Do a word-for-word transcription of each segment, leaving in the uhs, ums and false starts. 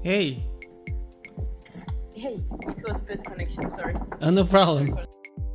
Hey, Hey, it was bad connection, sorry. uh, no problem. Sorry for-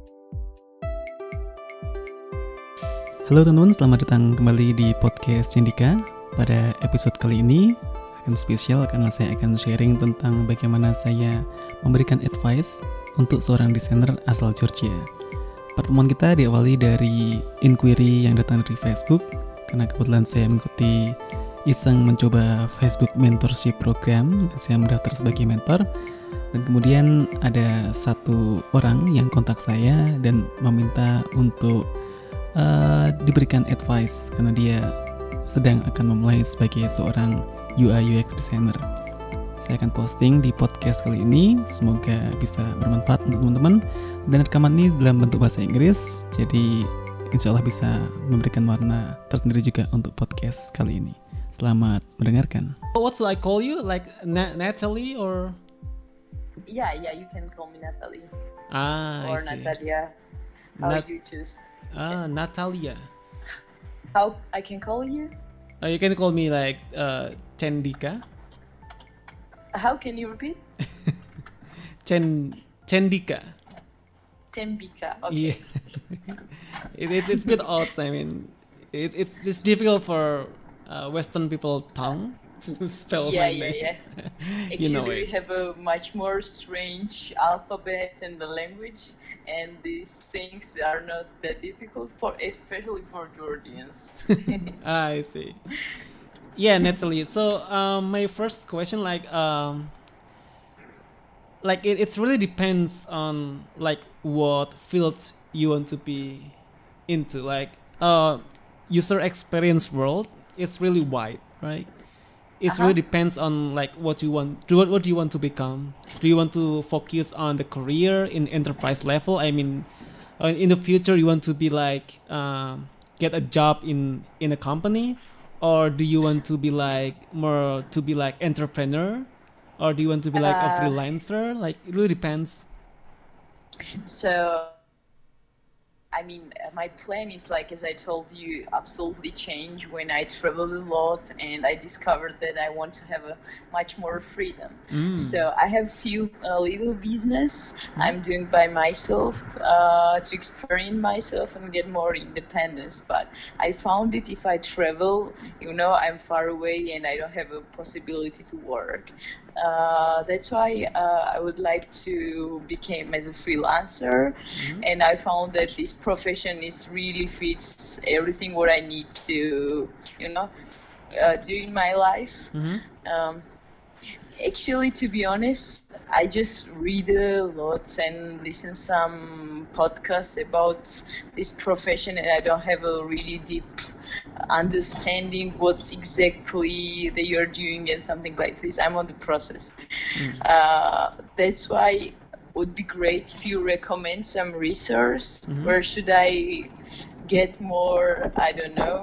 Halo teman-teman, selamat datang kembali di podcast Cendika. Pada episode kali ini akan spesial karena saya akan sharing tentang bagaimana saya memberikan advice untuk seorang desainer asal Georgia. Pertemuan kita diawali dari inquiry yang datang dari Facebook, karena kebetulan saya mengikuti iseng mencoba Facebook Mentorship Program dan saya mendaftar sebagai mentor. Dan kemudian ada satu orang yang kontak saya dan meminta untuk uh, diberikan advice karena dia sedang akan memulai sebagai seorang U I U X designer. Saya akan posting di podcast kali ini, semoga bisa bermanfaat untuk teman-teman. Dan rekaman ini dalam bentuk bahasa Inggris, jadi insya Allah bisa memberikan warna tersendiri juga untuk podcast kali ini. Selamat mendengarkan. What should I call you? Like Na- Natalie or? Yeah, yeah, you can call me Natalie. Ah, or I see. Natalia. How Nat- you choose. Ah, Natalia. How I can call you? Uh, you can call me like uh, Cendika. How can you repeat? Chen Cendika. Tembika. Okay. Yeah. it, it's it's a bit odd. I mean, it, it's it's difficult for uh, Western people tongue to spell Yeah, my yeah, name. yeah. You know Actually, we it. have a much more strange alphabet in the language, and these things are not that difficult for, especially for Georgians. Ah, I see. Yeah, Natalie. So, um, my first question, like, um, like it, it's really depends on like what fields you want to be into. Like, uh, user experience world is really wide, right? It Uh-huh. really depends on like what you want. Do what, what do you want to become? Do you want to focus on the career in enterprise level? I mean, uh, in the future, you want to be like um, get a job in in a company, or do you want to be like more to be like entrepreneur, or do you want to be like a Uh, freelancer? Like it really depends. So, I mean, uh, my plan is like, as I told you, absolutely change when I traveled a lot and I discovered that I want to have a much more freedom. Mm. So I have few uh, little business I'm doing by myself uh, to experience myself and get more independence. But I found it if I travel, you know, I'm far away and I don't have a possibility to work. Uh, that's why uh, I would like to become as a freelancer, Mhm. and I found that this profession is really fits everything what I need to, you know, uh, do in my life. Mhm. Um, Actually, to be honest, I just read a lot and listen some podcasts about this profession, and I don't have a really deep understanding what's exactly they are doing and something like this. I'm on the process. Mm. Uh, that's why it would be great if you recommend some resource. Mhm. Where should I get more, I don't know,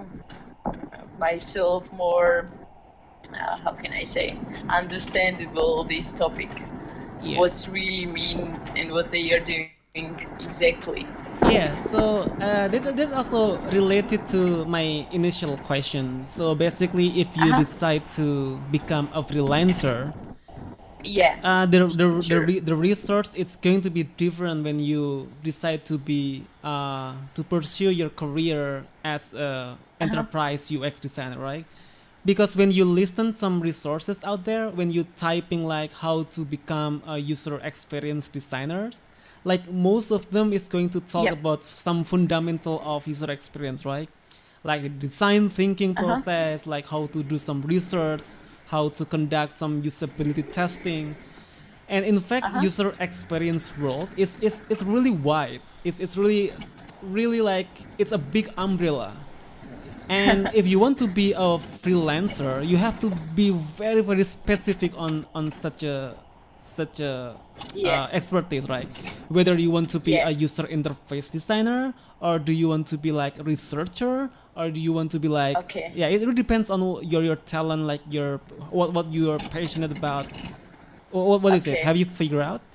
myself more, uh, how can I say, understandable this topic. Yeah. What's really mean and what they are doing exactly. Yeah, so uh, that, that also related to my initial question. So basically, if you Uh-huh. decide to become a freelancer, Yeah. uh, the the the, Sure. re- the resource is going to be different when you decide to be uh, to pursue your career as a enterprise U X designer, right? Because when you listen some resources out there, when you typing like how to become a user experience designers, like most of them is going to talk Yep. about some fundamental of user experience, right? Like the design thinking Uh-huh. process, like how to do some research, how to conduct some usability testing. And in fact, Uh-huh. user experience world is is is really wide. It's it's really really like it's a big umbrella. And if you want to be a freelancer, you have to be very very specific on on such a such a Yeah. uh, expertise, right? Whether you want to be Yeah. a user interface designer, or do you want to be like a researcher, or do you want to be like Okay. yeah, it really depends on your your talent, like your what what you are passionate about. What what is it? Okay. Have you figured out?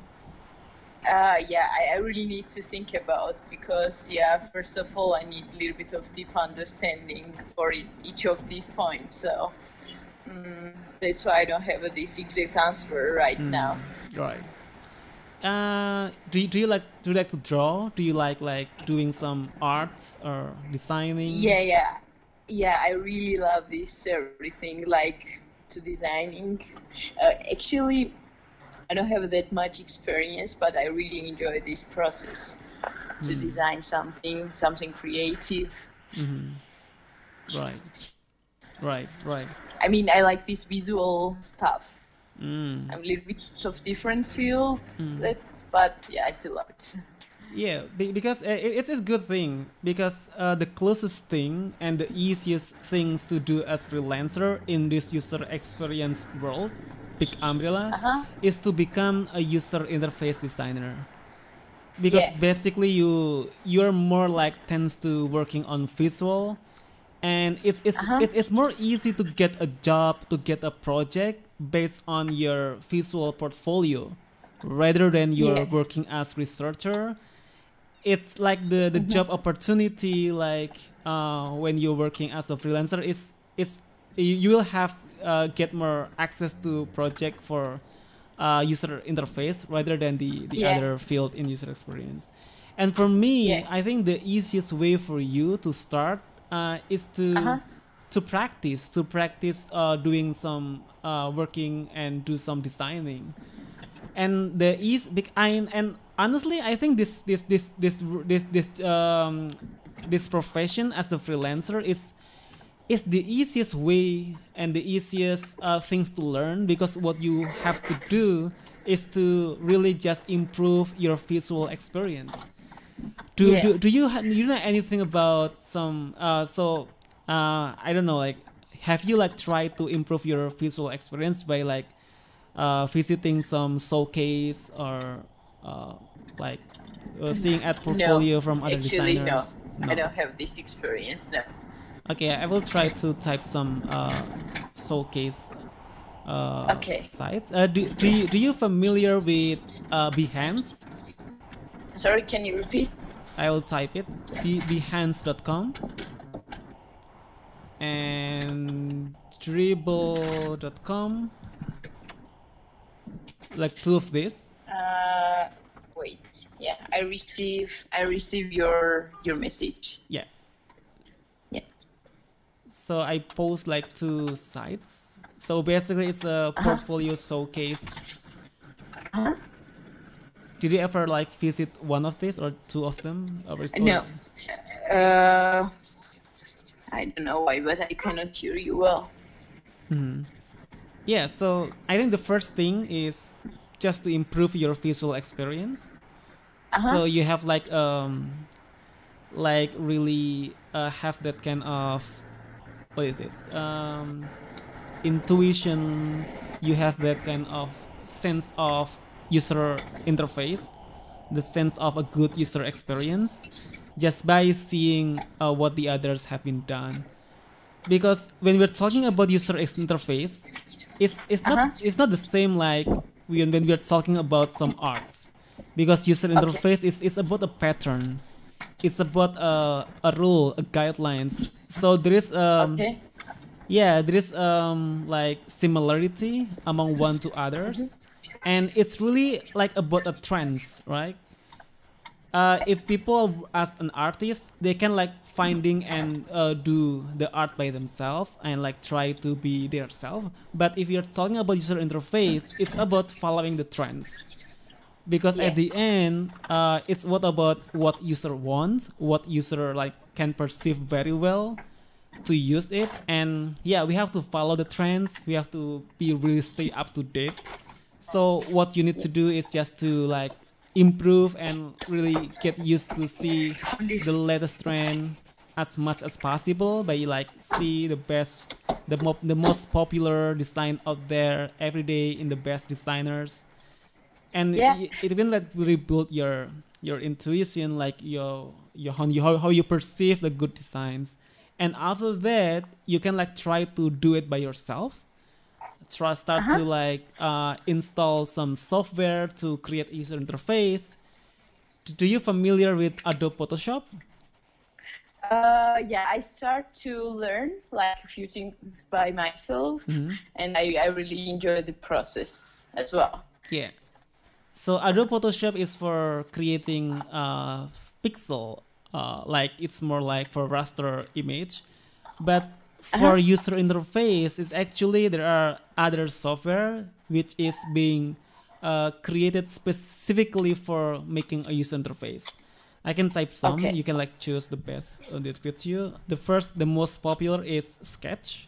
Uh, yeah, I, I really need to think about, because yeah, first of all, I need a little bit of deep understanding for e- each of these points. So Mm, that's why I don't have this exact answer right now. Right. Uh, do you, do you like do you like to draw? Do you like like doing some arts or designing? Yeah, yeah, yeah. I really love this everything like to designing. Uh, actually, I don't have that much experience, but I really enjoy this process to design something, something creative. Right. Right. Right. I mean, I like this visual stuff. Mm. I'm a little bit of different field, that, but yeah, I still love it. Yeah, be- because uh, it- it's a good thing because uh, the closest thing and the easiest things to do as freelancer in this user experience world, big umbrella, Uh-huh. is to become a user interface designer. Because Yeah. basically you you're more like tends to working on visual, and it's it's Uh-huh. it's, it's more easy to get a job, to get a project based on your visual portfolio rather than you're Yeah. working as researcher. It's like the the job opportunity, like uh, when you're working as a freelancer, is is you you will have uh, get more access to project for uh, user interface rather than the the Yeah. other field in user experience. And for me, Yeah. I think the easiest way for you to start uh, is to Uh-huh. to practice to practice uh, doing some uh, working and do some designing. And the ease bec- I, and honestly, I think this this this this this this um this profession as a freelancer is is the easiest way and the easiest uh, things to learn, because what you have to do is to really just improve your visual experience. Do Yeah. do, do you ha- do you know anything about some uh so uh I don't know, like, have you like tried to improve your visual experience by like uh, visiting some showcase or uh, like uh, seeing at No. portfolio from other Actually, no. designers? I No. don't have this experience. No. Okay, I will try to type some uh, showcase uh, Okay. sites. Uh, do, do, you, do you familiar with uh, Behance? Sorry, can you repeat? I will type it. Be- behance dot com and dribble dot com. Like two of these. Uh, wait. Yeah, I receive. I receive your your message. Yeah. Yeah. So I post like two sites. So basically, it's a portfolio showcase. Uh-huh. Did you ever like visit one of these or two of them? Or is No. Uh, I don't know why, but I cannot hear you well. Yeah. So I think the first thing is just to improve your visual experience. So you have like um like really uh, have that kind of, what is it, um intuition. You have that kind of sense of user interface, the sense of a good user experience, just by seeing uh, what the others have been done. Because when we're talking about user ex- interface, it's it's not Uh-huh. it's not the same like when when we're talking about some arts, because user Okay. interface is is about a pattern, it's about a, a rule, a guidelines. So there is um Okay. yeah, there is um like similarity among one to others, and it's really like about a trends, right? Uh, if people as an artist, they can like finding and uh, do the art by themselves and like try to be their self. But if you're talking about user interface, it's about following the trends, because Yeah. at the end uh, it's what about what user wants, what user like can perceive very well to use it. And yeah, we have to follow the trends, we have to be really stay up to date. So what you need to do is just to like improve and really get used to see the latest trend as much as possible, by like see the best, the, mo- the most popular design out there every day in the best designers. And Yeah. it, it will like rebuild your your intuition, like your your how you how, how you perceive the good designs. And after that, you can like try to do it by yourself. Try start to like uh, install some software to create user interface. Do you familiar with Adobe Photoshop? Uh, yeah, I start to learn like a few things by myself, Mhm. and I, I really enjoy the process as well. Yeah. So Adobe Photoshop is for creating uh, pixel, uh, like it's more like for raster image. But Uh-huh. for user interface, is actually there are other software which is being uh, created specifically for making a user interface. I can type some. Okay. You can like choose the best uh, that fits you. The first, the most popular is Sketch,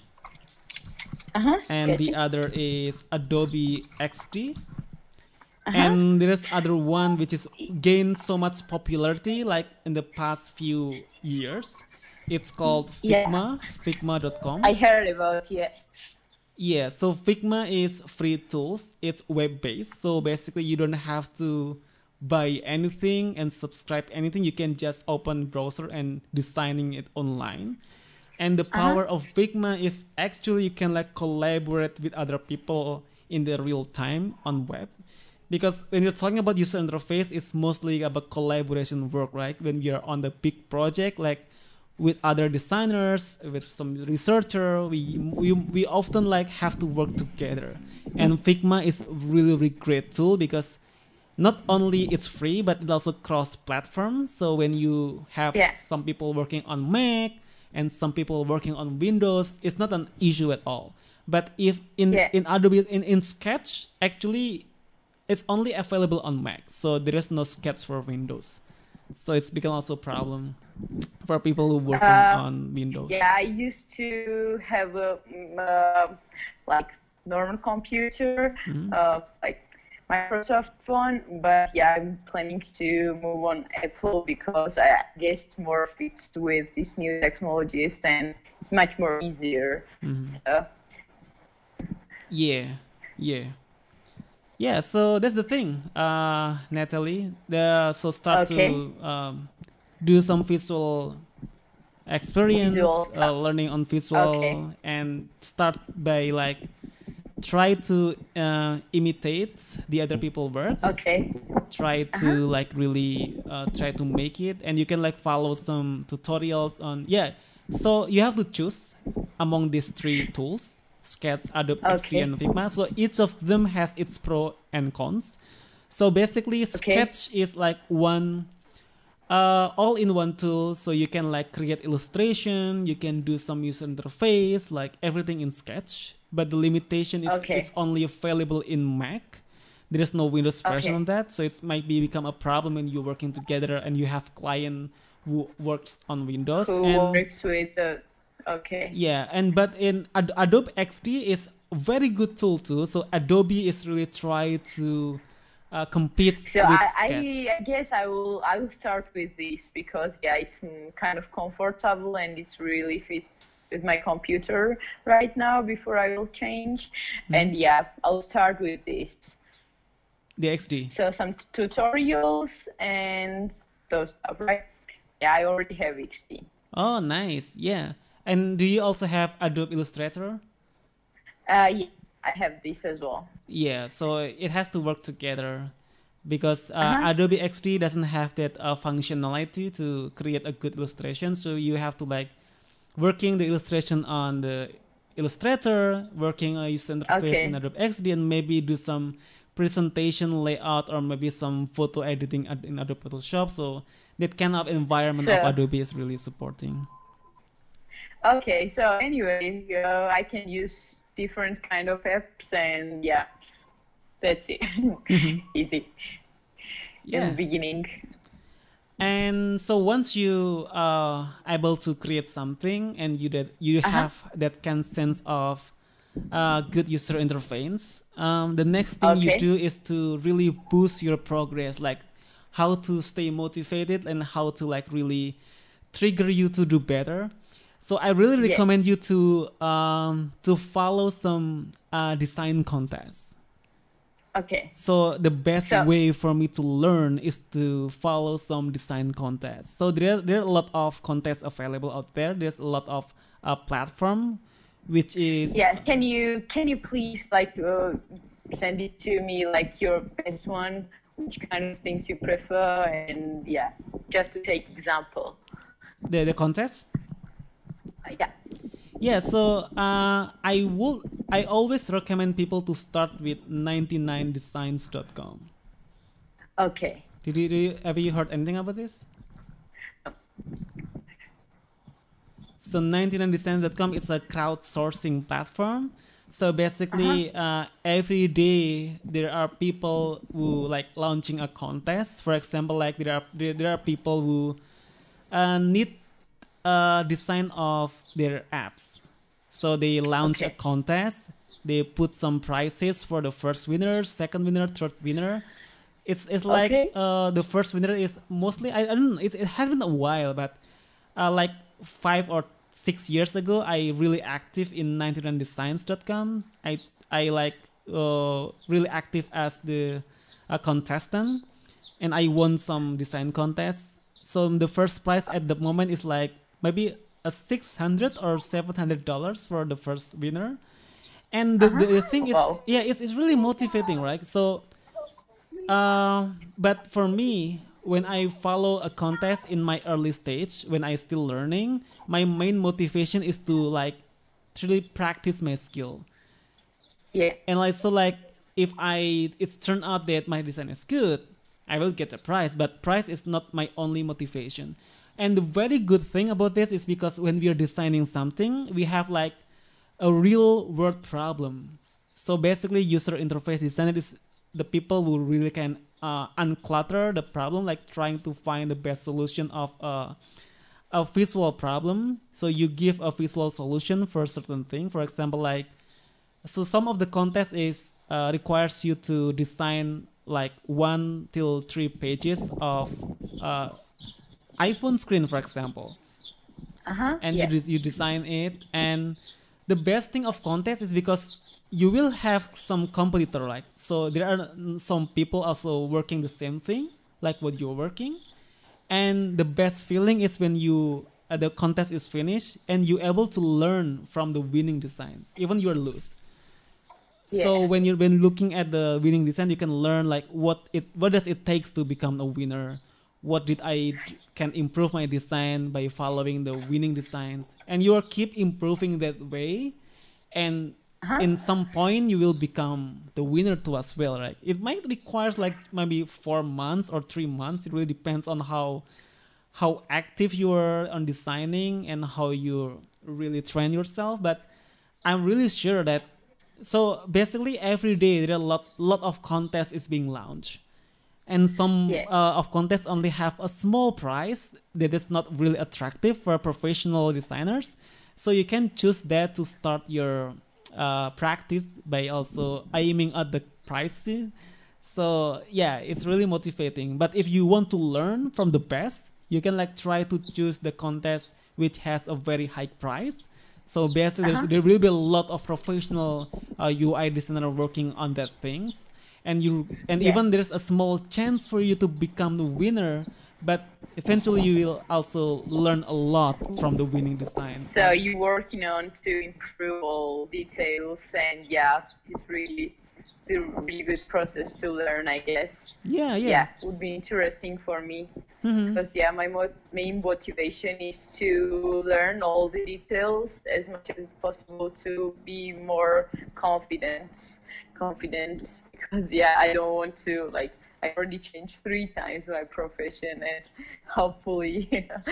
Uh-huh. and the Sketchy. other is Adobe X D, Uh-huh. and there's other one which is gained so much popularity like in the past few years. It's called Yeah, Figma, figma dot com. I heard about it. Yeah, so Figma is free tools. It's web based, so basically you don't have to buy anything and subscribe anything. You can just open browser and designing it online. And the Uh-huh. power of Figma is actually you can like collaborate with other people in the real time on web. Because when you're talking about user interface, it's mostly about collaboration work, right? When you're on the big project, like with other designers, with some researcher, we we, we often like have to work together. And Figma is really really great tool because not only it's free but it also cross platform. So when you have Yeah. some people working on Mac and some people working on Windows, it's not an issue at all. But if in Yeah. in Adobe in, in Sketch, actually it's only available on Mac, so there is no Sketch for Windows. So it's become also a problem for people who working Uh, on Windows. yeah, I used to have a mm, uh, like normal computer, Mhm. uh, like Microsoft one, but yeah, I'm planning to move on Apple because I guess it's more fits with these new technologies and it's much more easier. Mhm. So Yeah, yeah, yeah. So that's the thing, uh, Natalie. The so start okay, to um, do some visual visual experience, uh, stuff. learning on Okay, visual, and start by like try to uh, imitate the other people works. okay, Try uh-huh, to like really uh, try to make it, and you can like follow some tutorials on yeah. So you have to choose among these three tools: Sketch, Adobe X D, okay, and Figma. So each of them has its pro and cons. So basically, okay, Sketch is like one uh, all-in-one tool, so you can like create illustration, you can do some user interface, like everything in Sketch. But the limitation is it's okay, only available in Mac. There is no Windows version okay. on that, so it might be become a problem when you're working together and you have client who works on Windows. Who And works with the, okay. yeah, and but in Ad- Adobe X D is a very good tool too. So Adobe is really try to uh, compete So with I, Sketch. I, I guess I will I will start with this because yeah, it's mm, kind of comfortable and it's really fits with my computer right now before I will change. Mhm. And yeah, I'll start with this. The X D. So some t- tutorials and those stuff, right? Yeah, I already have X D. Oh, nice. Yeah. And do you also have Adobe Illustrator? Uh, yeah, I have this as well. Yeah, so it has to work together because uh, Uh-huh. Adobe X D doesn't have that uh, functionality to create a good illustration. So you have to like working the illustration on the Illustrator, working a user interface in Okay. Adobe X D, and maybe do some presentation layout or maybe some photo editing ad- in Adobe Photoshop. So that kind of environment of So Adobe is really supporting. okay, so anyway, uh, I can use different kind of apps and yeah, that's it. Easy in the Yeah. beginning. And so once you are able to create something and you that you Uh-huh. have that kind of sense of uh, good user interface, um, the next thing you Okay. do is to really boost your progress, like how to stay motivated and how to like really trigger you to do better. So I really Yeah. recommend you to um, to follow some uh, design contests. Okay. So the best So way for me to learn is to follow some design contests. So there there are a lot of contests available out there. There's a lot of uh, platform, which is yeah, can you can you please like uh, send it to me like your best one, which kind of things you prefer, and yeah, just to take example. the the contest. Uh, yeah. Yeah, so uh, I would I always recommend people to start with ninety nine designs dot com. Okay. Did you, did you have you heard anything about this? So ninety nine designs dot com is a crowdsourcing platform. So basically, uh, every day there are people who like launching a contest. For example, like there are there, there are people who uh, need a design of their apps. So they launch a Okay. contest. They put some prizes for the first winner, second winner, third winner. It's it's like Okay. uh, the first winner is mostly I, I don't know. It, it has been a while, but uh, like five or six years ago, I really active in ninety nine designs dot com. I I like uh, really active as the a contestant, and I won some design contests. So the first prize at the moment is like maybe a six hundred or seven hundred dollars for the first winner. And the, the, the thing is, Wow. yeah, it's, it's really motivating, right? So uh, but for me, when I follow a contest in my early stage, when I still learning, my main motivation is to like truly practice my skill. Yeah. And like so, like if I it's turned out that my design is good, I will get a prize. But prize is not my only motivation. And the very good thing about this is because when we are designing something, we have like a real world problem. So basically, user interface designer is the people who really can uh, unclutter the problem, like trying to find the best solution of a, a visual problem. So you give a visual solution for a certain thing. For example, like so some of the contest is uh, requires you to design like one till three pages of uh, iPhone screen, for example, Uh huh. and you Yeah. des- you design it. And the best thing of contest is because you will have some competitor, like so there are mm, some people also working the same thing like what you're working. And the best feeling is when you uh, the contest is finished and you able to learn from the winning designs even you're lose. So Yeah. when you're when looking at the winning design, you can learn like what it what does it takes to become a winner. What did I d- can improve my design by following the winning designs, and you are keep improving that way. And Uh huh. in some point, you will become the winner too as well, right? It might require like maybe four months or three months. It really depends on how how active you are on designing and how you really train yourself. But I'm really sure that so basically every day there are a lot lot of contests is being launched, and some Yeah. uh, of contests only have a small price that is not really attractive for professional designers. So you can choose that to start your uh, practice by also aiming at the price. So yeah, it's really motivating. But if you want to learn from the best, you can like try to choose the contest which has a very high price. So basically, Uh there's, huh. there will be a lot of professional uh, U I designer working on that things, and you and Yeah. even there's a small chance for you to become the winner. But eventually, you will also learn a lot from the winning design. So Like you're working on to improve all details, and yeah, it's really the really good process to learn, I guess. yeah, yeah. Yeah, would be interesting for me Hmm. because yeah, my mo- main motivation is to learn all the details as much as possible to be more confident, confident because yeah, I don't want to like. I already changed three times my profession, and hopefully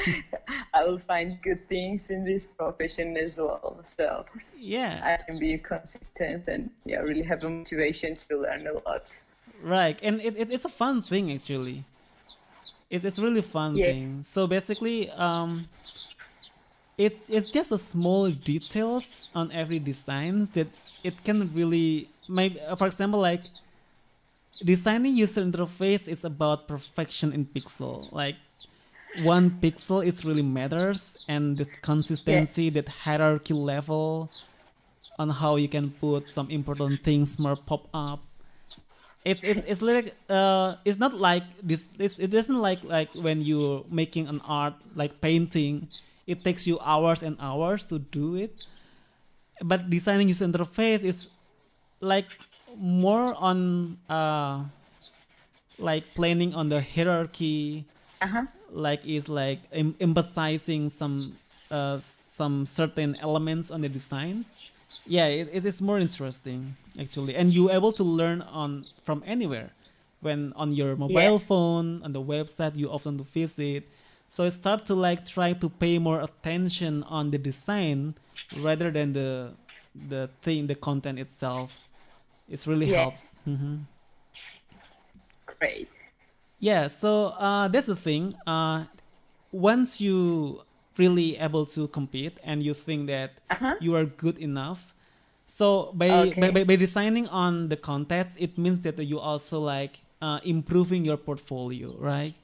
I will find good things in this profession as well. So Yeah, I can be consistent and yeah, really have a motivation to learn a lot. right. And it, it, it's a fun thing actually. It's it's really fun Yeah, thing. So basically, um, it's it's just a small details on every designs that it can really maybe uh, for example like designing user interface is about perfection in pixel. Like one pixel is really matters, and the yeah, consistency, that hierarchy level on how you can put some important things more pop up. It's it's it's like uh it's not like this it's, it doesn't like like when you're making an art like painting, it takes you hours and hours to do it. But designing user interface is like more on uh like planning on the hierarchy Uh-huh. like is like em- emphasizing some uh, some certain elements on the designs. Yeah, it, it is more interesting actually, and you able to learn on from anywhere when on your Yeah. mobile phone on the website you often to visit. So I start to like try to pay more attention on the design rather than the the thing, the content itself. It really Yeah. helps. Hmm. Great. Yeah, so uh, that's the thing. Uh, once you really able to compete and you think that Uh-huh. you are good enough, so by by, Okay. by, by designing on the contest, it means that you also like uh, improving your portfolio, right?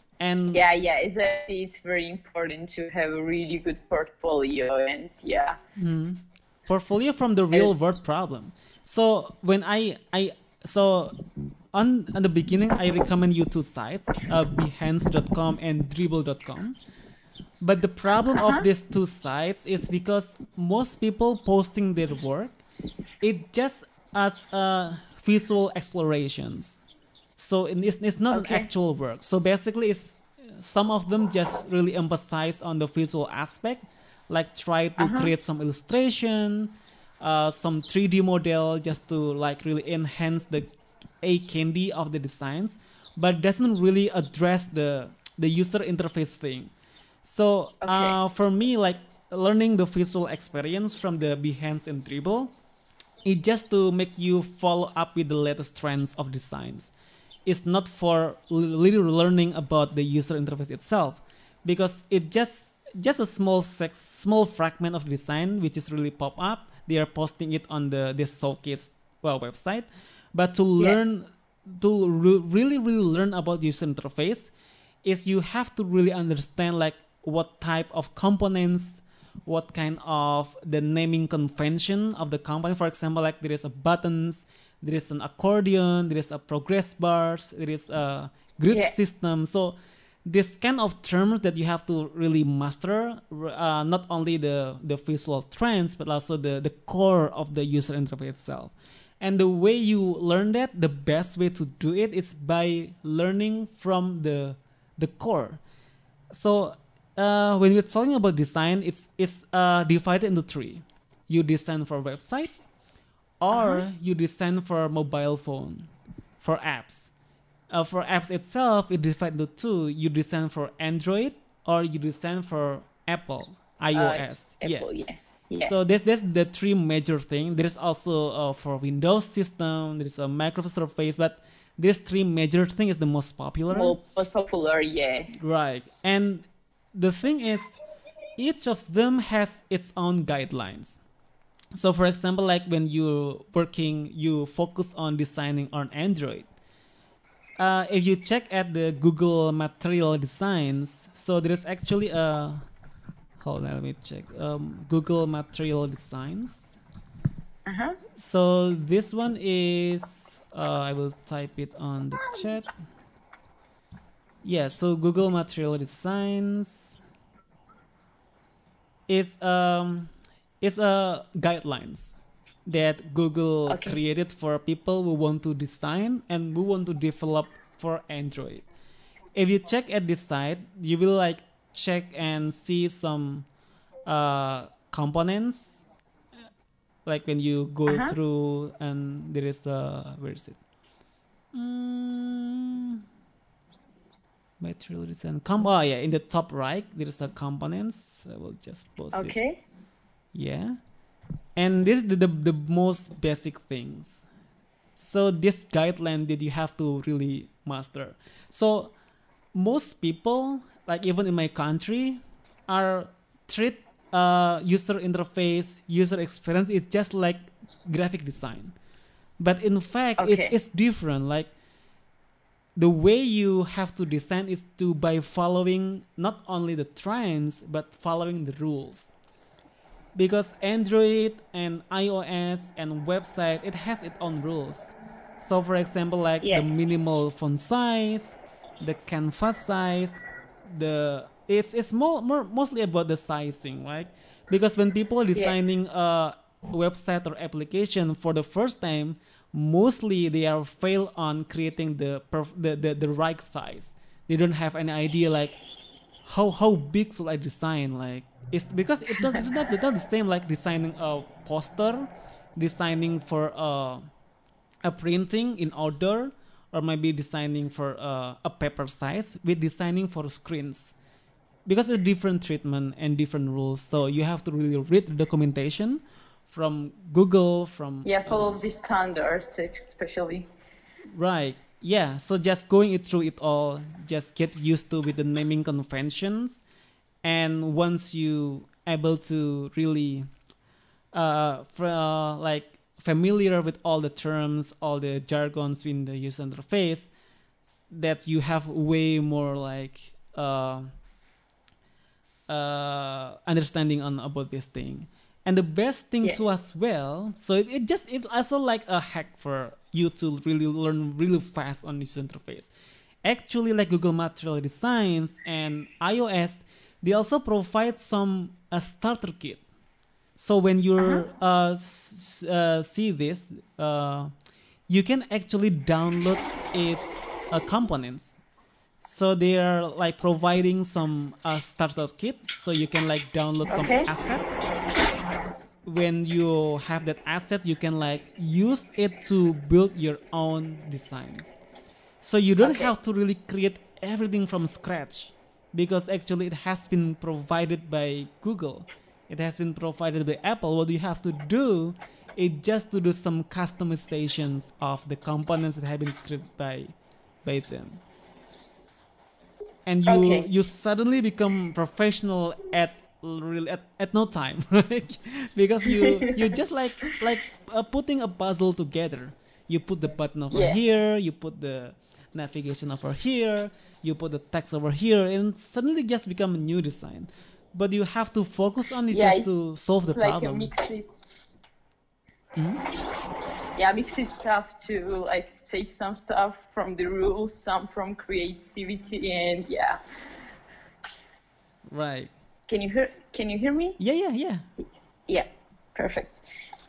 And Yeah, yeah, exactly. It's very important to have a really good portfolio, and yeah. portfolio from the And, real world problem. So when I I so on on the beginning, I recommend you two sites, uh, behance dot com and dribble dot com. But the problem of uh-huh. these two sites is because most people posting their work, it just as uh, visual explorations. So it's, it's not an Okay. actual work. So basically, it's some of them just really emphasize on the visual aspect, like try to Uh-huh. create some illustration, uh, some three D model just to like really enhance the a candy of the designs, but doesn't really address the the user interface thing. So Okay. uh, for me, like learning the visual experience from the Behance and Dribble, it just to make you follow up with the latest trends of designs. It's not for literally learning about the user interface itself, because it just just a small sex, small fragment of design which is really pop up. They are posting it on the this showcase well website, but to Yeah. learn to re- really really learn about user interface is you have to really understand like what type of components, what kind of the naming convention of the company. For example, like there is a buttons, there is an accordion, there is a progress bars, there is a grid Yeah. system. So this kind of terms that you have to really master, uh, not only the the visual trends but also the the core of the user interface itself. And the way you learn that, the best way to do it is by learning from the the core. So uh, when we're talking about design, it's it's uh, divided into three. You design for website, Uh-huh. or you design for mobile phone, for apps. Uh, for apps itself, it divided into two. You design for Android, or you design for Apple Uh, iOS. Yeah. Apple, yeah. Yeah. So that's that's the three major thing. There is also uh, for Windows system. There is a Microsoft Surface, but these three major thing is the most popular. More most popular, yeah. Right. And the thing is, each of them has its own guidelines. So, for example, like when you're working, you focus on designing on Android. Uh, if you check at the Google Material Designs, so there is actually a hold on, let me check. Um, Google Material Designs. Uh-huh. So this one is uh, I will type it on the chat. Yeah, so Google Material Designs is um is a guidelines that Google Okay. created for people who want to design and who want to develop for Android. If you check at this site, you will like check and see some uh, components. Like when you go Uh-huh. through, and there is a where is it? Mm, material design. Com- oh yeah, in the top right there is a components. I will just post it. Okay. Yeah, and this is the, the the most basic things. So this guideline that you have to really master. So most people, like even in my country, are treat uh, user interface, user experience. It's just like graphic design, but in fact, it's Okay. it's different. Like the way you have to design is to by following not only the trends but following the rules, because Android and iOS and website, it has its own rules. So for example, like the Yeah. minimal font size, the canvas size, the it's it's more, more mostly about the sizing, right? Because when people are Yeah. designing a website or application for the first time, mostly they are fail on creating the perf- the, the the right size. they don't have any idea like how how big should I design, like it's because it does, it's not, it's not the same like designing a poster, designing for a a printing in outdoor, or maybe designing for uh, a paper size with designing for screens, because it's different treatment and different rules. So you have to really read the documentation from Google, from Yeah, follow uh, the standards, especially. right. Yeah, so just going it through it all, just get used to with the naming conventions, and once you able to really uh, fr- uh like familiar with all the terms, all the jargons in the user interface, that you have way more like uh, uh, understanding on about this thing. And the best thing Yeah. too as well, so it, it just it's also like a hack for you to really learn really fast on this interface. Actually, like Google Material Designs and iOS, they also provide some a starter kit. So when Uh-huh. you uh, s- uh, see this, uh, you can actually download its uh, components. So they are like providing some uh, starter kit, so you can like download some Okay. assets. When you have that asset, you can like use it to build your own designs. So you don't Okay. have to really create everything from scratch, because actually it has been provided by Google. It has been provided by Apple. What you have to do is just to do some customizations of the components that have been created by by them. And you Okay. you suddenly become professional at really at, at no time, right? Because you you just like like uh, putting a puzzle together. You put the button over Yeah. here, you put the navigation over here, you put the text over here, and suddenly just become a new design. But you have to focus on it Yeah, just to solve the it's like a problem. mix it. Mhm. Yeah, mix it stuff to like take some stuff from the rules, some from creativity, and yeah. Right. Can you hear? Can you hear me? Yeah, yeah, yeah. Yeah. Perfect.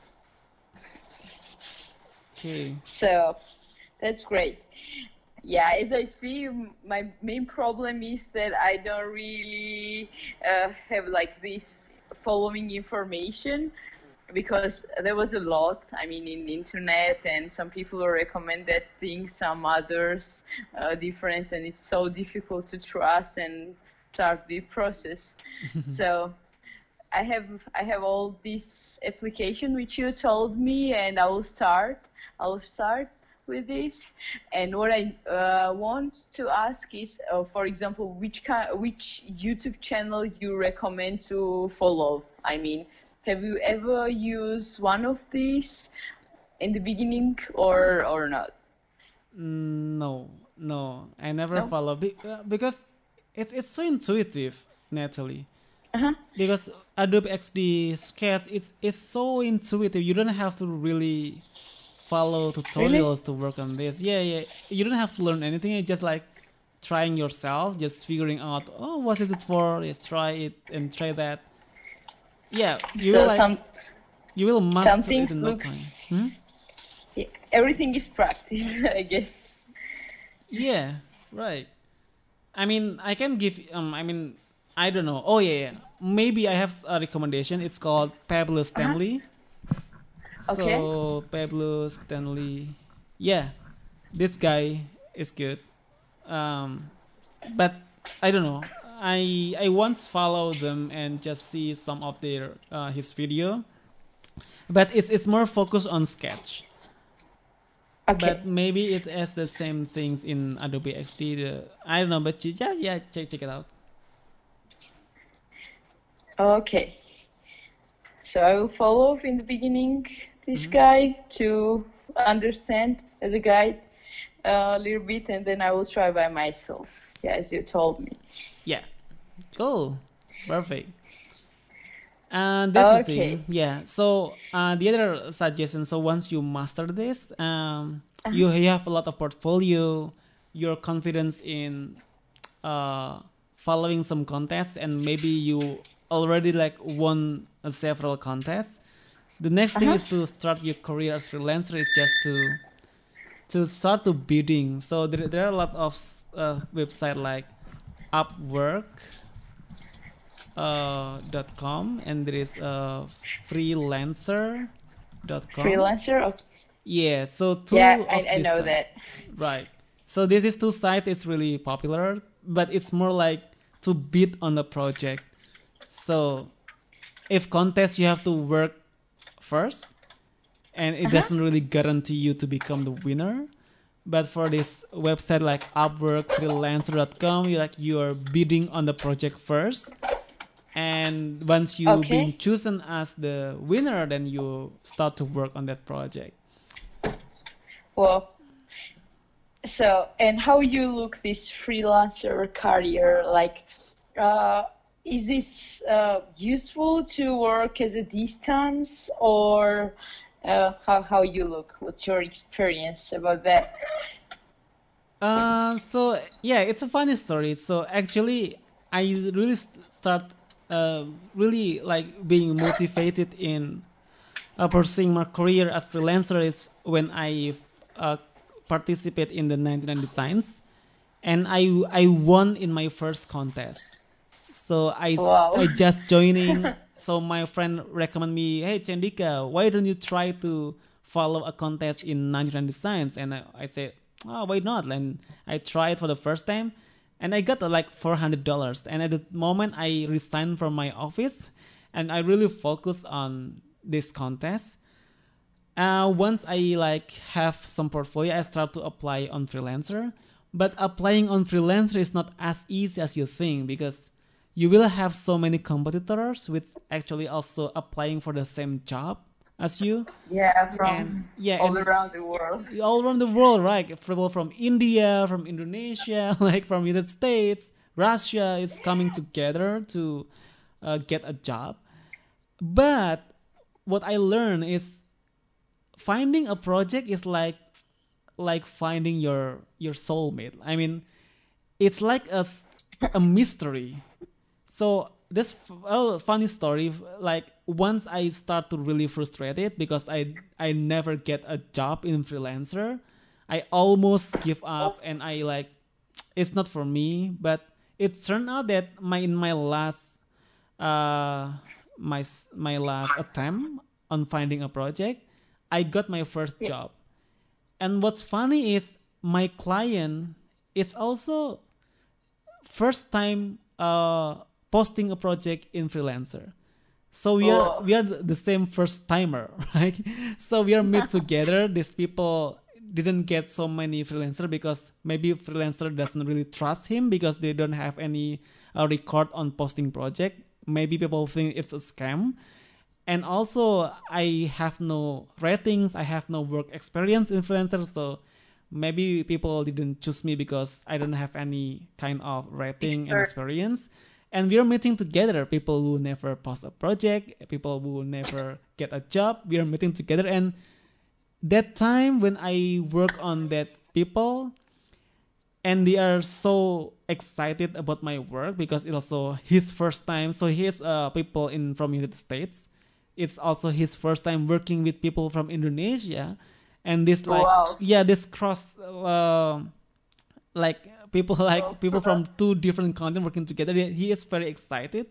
Okay. So that's great. Yeah, as I see, m- my main problem is that I don't really uh, have like this following information, because there was a lot, I mean, in the internet, and some people recommended things, some others uh, different, and it's so difficult to trust and start the process. So I have I have all this application which you told me, and I will start. I will start with this. And what I uh, want to ask is, uh, for example, which kind, which YouTube channel you recommend to follow? I mean, have you ever used one of these in the beginning, or or not? Mm, No, no, I never No. follow be- uh, because it's it's so intuitive, Natalie. Uh-huh. Because Adobe X D Sketch, it's it's so intuitive. You don't have to really follow Really? tutorials to work on this. Yeah, yeah. You don't have to learn anything. It's just like trying yourself, just figuring out, oh, what is it for? Yes, try it and try that. Yeah, you will So like some you will some master it things in no looks, time. Hmm? yeah, everything is practice, I guess. Yeah, right. I mean, I can give. Um, I mean, I don't know. Oh yeah, yeah. Maybe I have a recommendation. It's called Pablo Uh-huh. Stanley. Okay. So Pablo Stanley, yeah, this guy is good. Um, but I don't know. I I once followed them and just see some of their uh, his video, but it's it's more focused on sketch. Okay. But maybe it has the same things in Adobe X D. The, I don't know, but yeah, yeah, check check it out. Okay. So I will follow in the beginning this Hmm. guy to understand as a guide a little bit, and then I will try by myself. Yeah, as you told me. Yeah, cool, perfect. And that's the Okay. thing, yeah. So uh, the other suggestion. So once you master this, um, Uh-huh. you you have a lot of portfolio. Your confidence in uh, following some contests, and maybe you already like won uh, several contests. The next thing Uh-huh. is to start your career as freelancer. It's just to to start to bidding. So there, there are a lot of uh, website like Upwork uh, dot com, and there is uh, freelancer dot com. Freelancer? Okay. Yeah, so two Yeah, of I, I this know type. that. Right. So this is two site is really popular, but it's more like to bid on the project. So if contest, you have to work first, and it Uh-huh. doesn't really guarantee you to become the winner. But for this website like Upwork, freelancer dot com, you like you're bidding on the project first, and once you being Okay. chosen as the winner, then you start to work on that project. Well, so, and how you look this freelancer career, like, uh, is this uh, useful to work as a distance, or uh, how how you look? What's your experience about that? Uh, so yeah, it's a funny story. So actually, I really st- start uh, really like being motivated in uh, pursuing my career as freelancer is when I uh, participate in the ninety-nine Designs, and I I won in my first contest. So I s- Wow. I just joining. So my friend recommend me, hey Chandika, why don't you try to follow a contest in ninety-nine Designs? And I, I said, oh, why not? And I tried for the first time, and I got uh, like four hundred dollars. And at the moment, I resigned from my office, and I really focused on this contest. Uh, once I like have some portfolio, I start to apply on freelancer. But applying on freelancer is not as easy as you think, because you will have so many competitors which actually also applying for the same job as you. Yeah, And from yeah, all and around the world. all around the world, right? People from India, from Indonesia, like from United States, Russia, it's coming together to uh, get a job. But what I learned is finding a project is like like finding your your soulmate. I mean, it's like a a mystery. So this well, funny story. Like once I start to really frustrated because I I never get a job in freelancer, I almost give up and I like it's not for me. But it turned out that my in my last uh my my last attempt on finding a project, I got my first Yeah. job. And what's funny is my client is also first time uh, posting a project in freelancer. So we are Oh, we are the same first timer, right? So we are meet together. These people didn't get so many freelancer because maybe freelancer doesn't really trust him because they don't have any uh, record on posting project. Maybe people think it's a scam. And also I have no ratings, I have no work experience influencer, so maybe people didn't choose me because I don't have any kind of rating and expert. experience. And we are meeting together, people who never post a project, people who never get a job, we are meeting together. And that time when I work on that people, and they are so excited about my work because it's also his first time. So he's uh, people in from United States. It's also his first time working with people from Indonesia, and this like Wow. yeah this cross uh, like people like Oh, people from two different continents working together. He is very excited,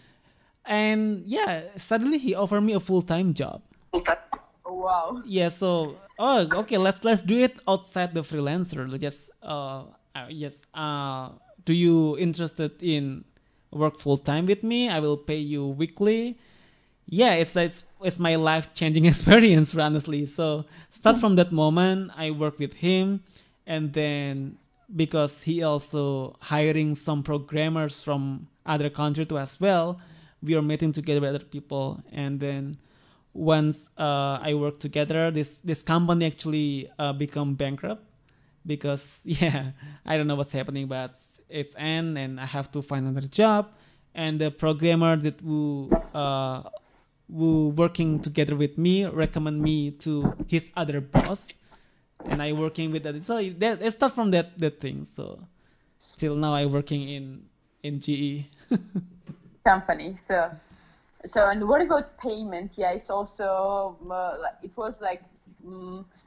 and yeah, suddenly he offered me a full time job. wow. Yeah, so oh okay, let's let's do it outside the freelancer. Just uh, uh yes uh do you interested in work full time with me? I will pay you weekly. Yeah, it's it's it's my life changing experience, honestly. So start from that moment, I work with him, and then because he also hiring some programmers from other country too as well, we are meeting together with other people, and then once uh, I work together, this this company actually uh, become bankrupt because yeah, I don't know what's happening, but it's end and I have to find another job. And the programmer that who uh, who working together with me recommend me to his other boss, and I working with that. So that it start from that that thing. So till now I working in in G E. Company. So, so and what about payment? Yeah, it's also uh, like- it was like mm,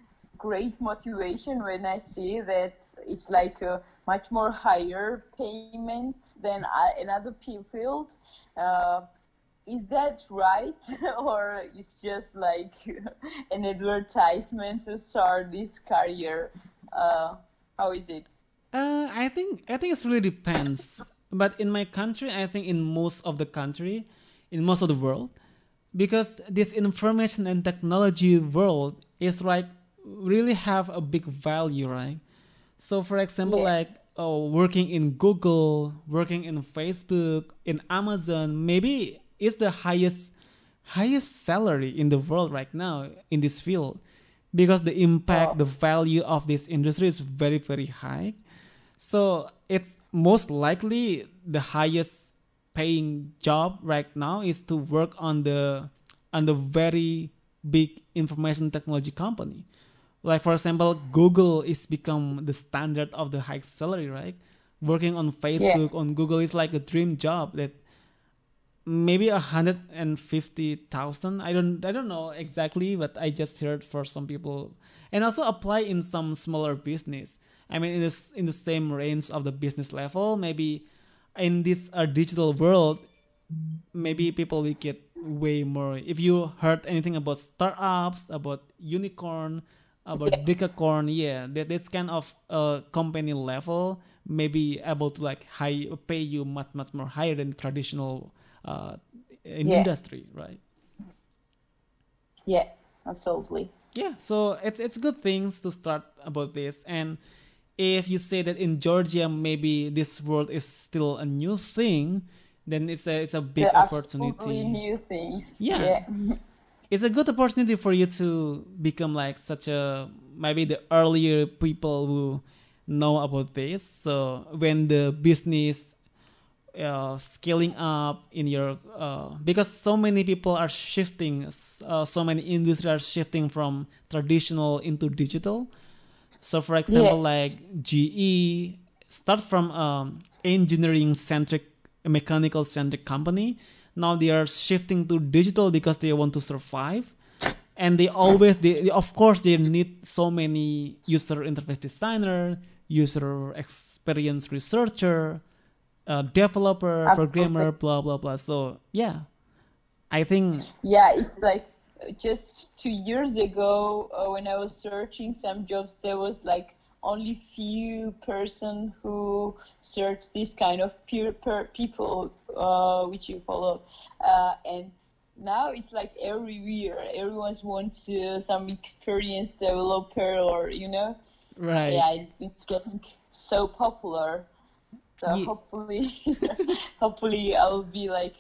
great motivation when I see that it's like a much more higher payment than I, another field. Uh, is that right, or it's just like an advertisement to start this career? Uh, how is it? Uh, I think I think it really depends. But in my country, I think in most of the country, in most of the world, because this information and technology world is like really have a big value, right? So for example, Yeah, like oh, working in Google, working in Facebook, in Amazon, maybe it's the highest highest salary in the world right now in this field because the impact, oh, the value of this industry is very very high. So it's most likely the highest paying job right now is to work on the on the very big information technology company. Like for example, Google is become the standard of the high salary, right? Working on yeah, Facebook on Google is like a dream job that maybe a hundred and fifty thousand. I don't I don't know exactly, but I just heard for some people, and also apply in some smaller business. I mean, in this in the same range of the business level, maybe in this uh, digital world, maybe people will get way more. If you heard anything about startups, about unicorn, yeah, about decacorn, yeah, that this kind of uh, company level may be able to like high pay you much much more higher than traditional uh, in yeah, industry, right? yeah, absolutely. Yeah, so it's it's good things to start about this. And if you say that in Georgia maybe this world is still a new thing, then it's a it's a big The absolutely opportunity. new things. Yeah, Yeah, it's a good opportunity for you to become like such a maybe the earlier people who know about this. So when the business uh, scaling up in your uh, because so many people are shifting, uh, so many industries are shifting from traditional into digital. So for yeah, example, like G E start from um, engineering centric, mechanical centric company. Now they are shifting to digital because they want to survive, and they always they of course they need so many user interface designer, user experience researcher, uh, developer, absolutely. programmer, blah blah blah. So yeah, I think Yeah, it's like uh, just two years ago uh, when I was searching some jobs, there was like only few person who search this kind of peer per people uh, which you follow, uh, and now it's like everywhere. Everyone's wants uh, some experienced developer or you know, right. yeah, it, it's getting so popular. So Yeah, hopefully, hopefully I'll be like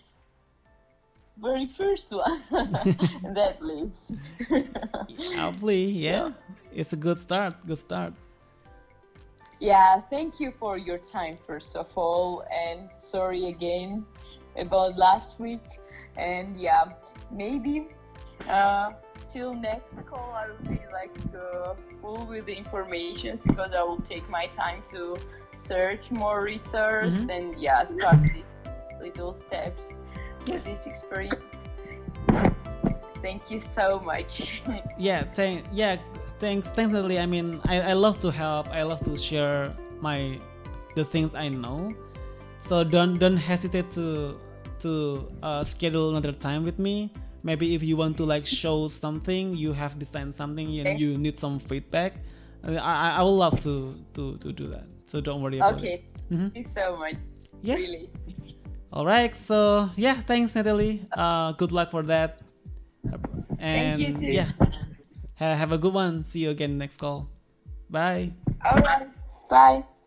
very first one in that list. hopefully, So, yeah, it's a good start. Good start. yeah, thank you for your time, first of all, and sorry again about last week. And yeah, maybe uh, till next call, I will be like uh, full with the information because I will take my time to search more research Mm-hmm. and yeah, start these little steps Yeah. with this experience. Thank you so much. Yeah, saying yeah, thanks, thanks, Natalie. I mean, I, I love to help. I love to share my the things I know. So don't don't hesitate to to uh, schedule another time with me. Maybe if you want to like show something, you have designed something and Okay. you need some feedback. I I, I would love to to to do that. So don't worry about it. Okay. Mm-hmm. Thank you so much. Yeah. Really. All right. So yeah, thanks, Natalie. Uh, good luck for that. Thank you And too. yeah, ha- have a good one. See you again next call. Bye. All right. Bye.